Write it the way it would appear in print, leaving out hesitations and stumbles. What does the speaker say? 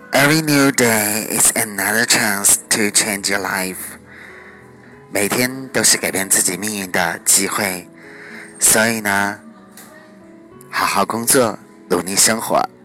Every new day is another chance to change your life. 每天都是改变自己命运的机会，所以呢，好好工作，努力生活。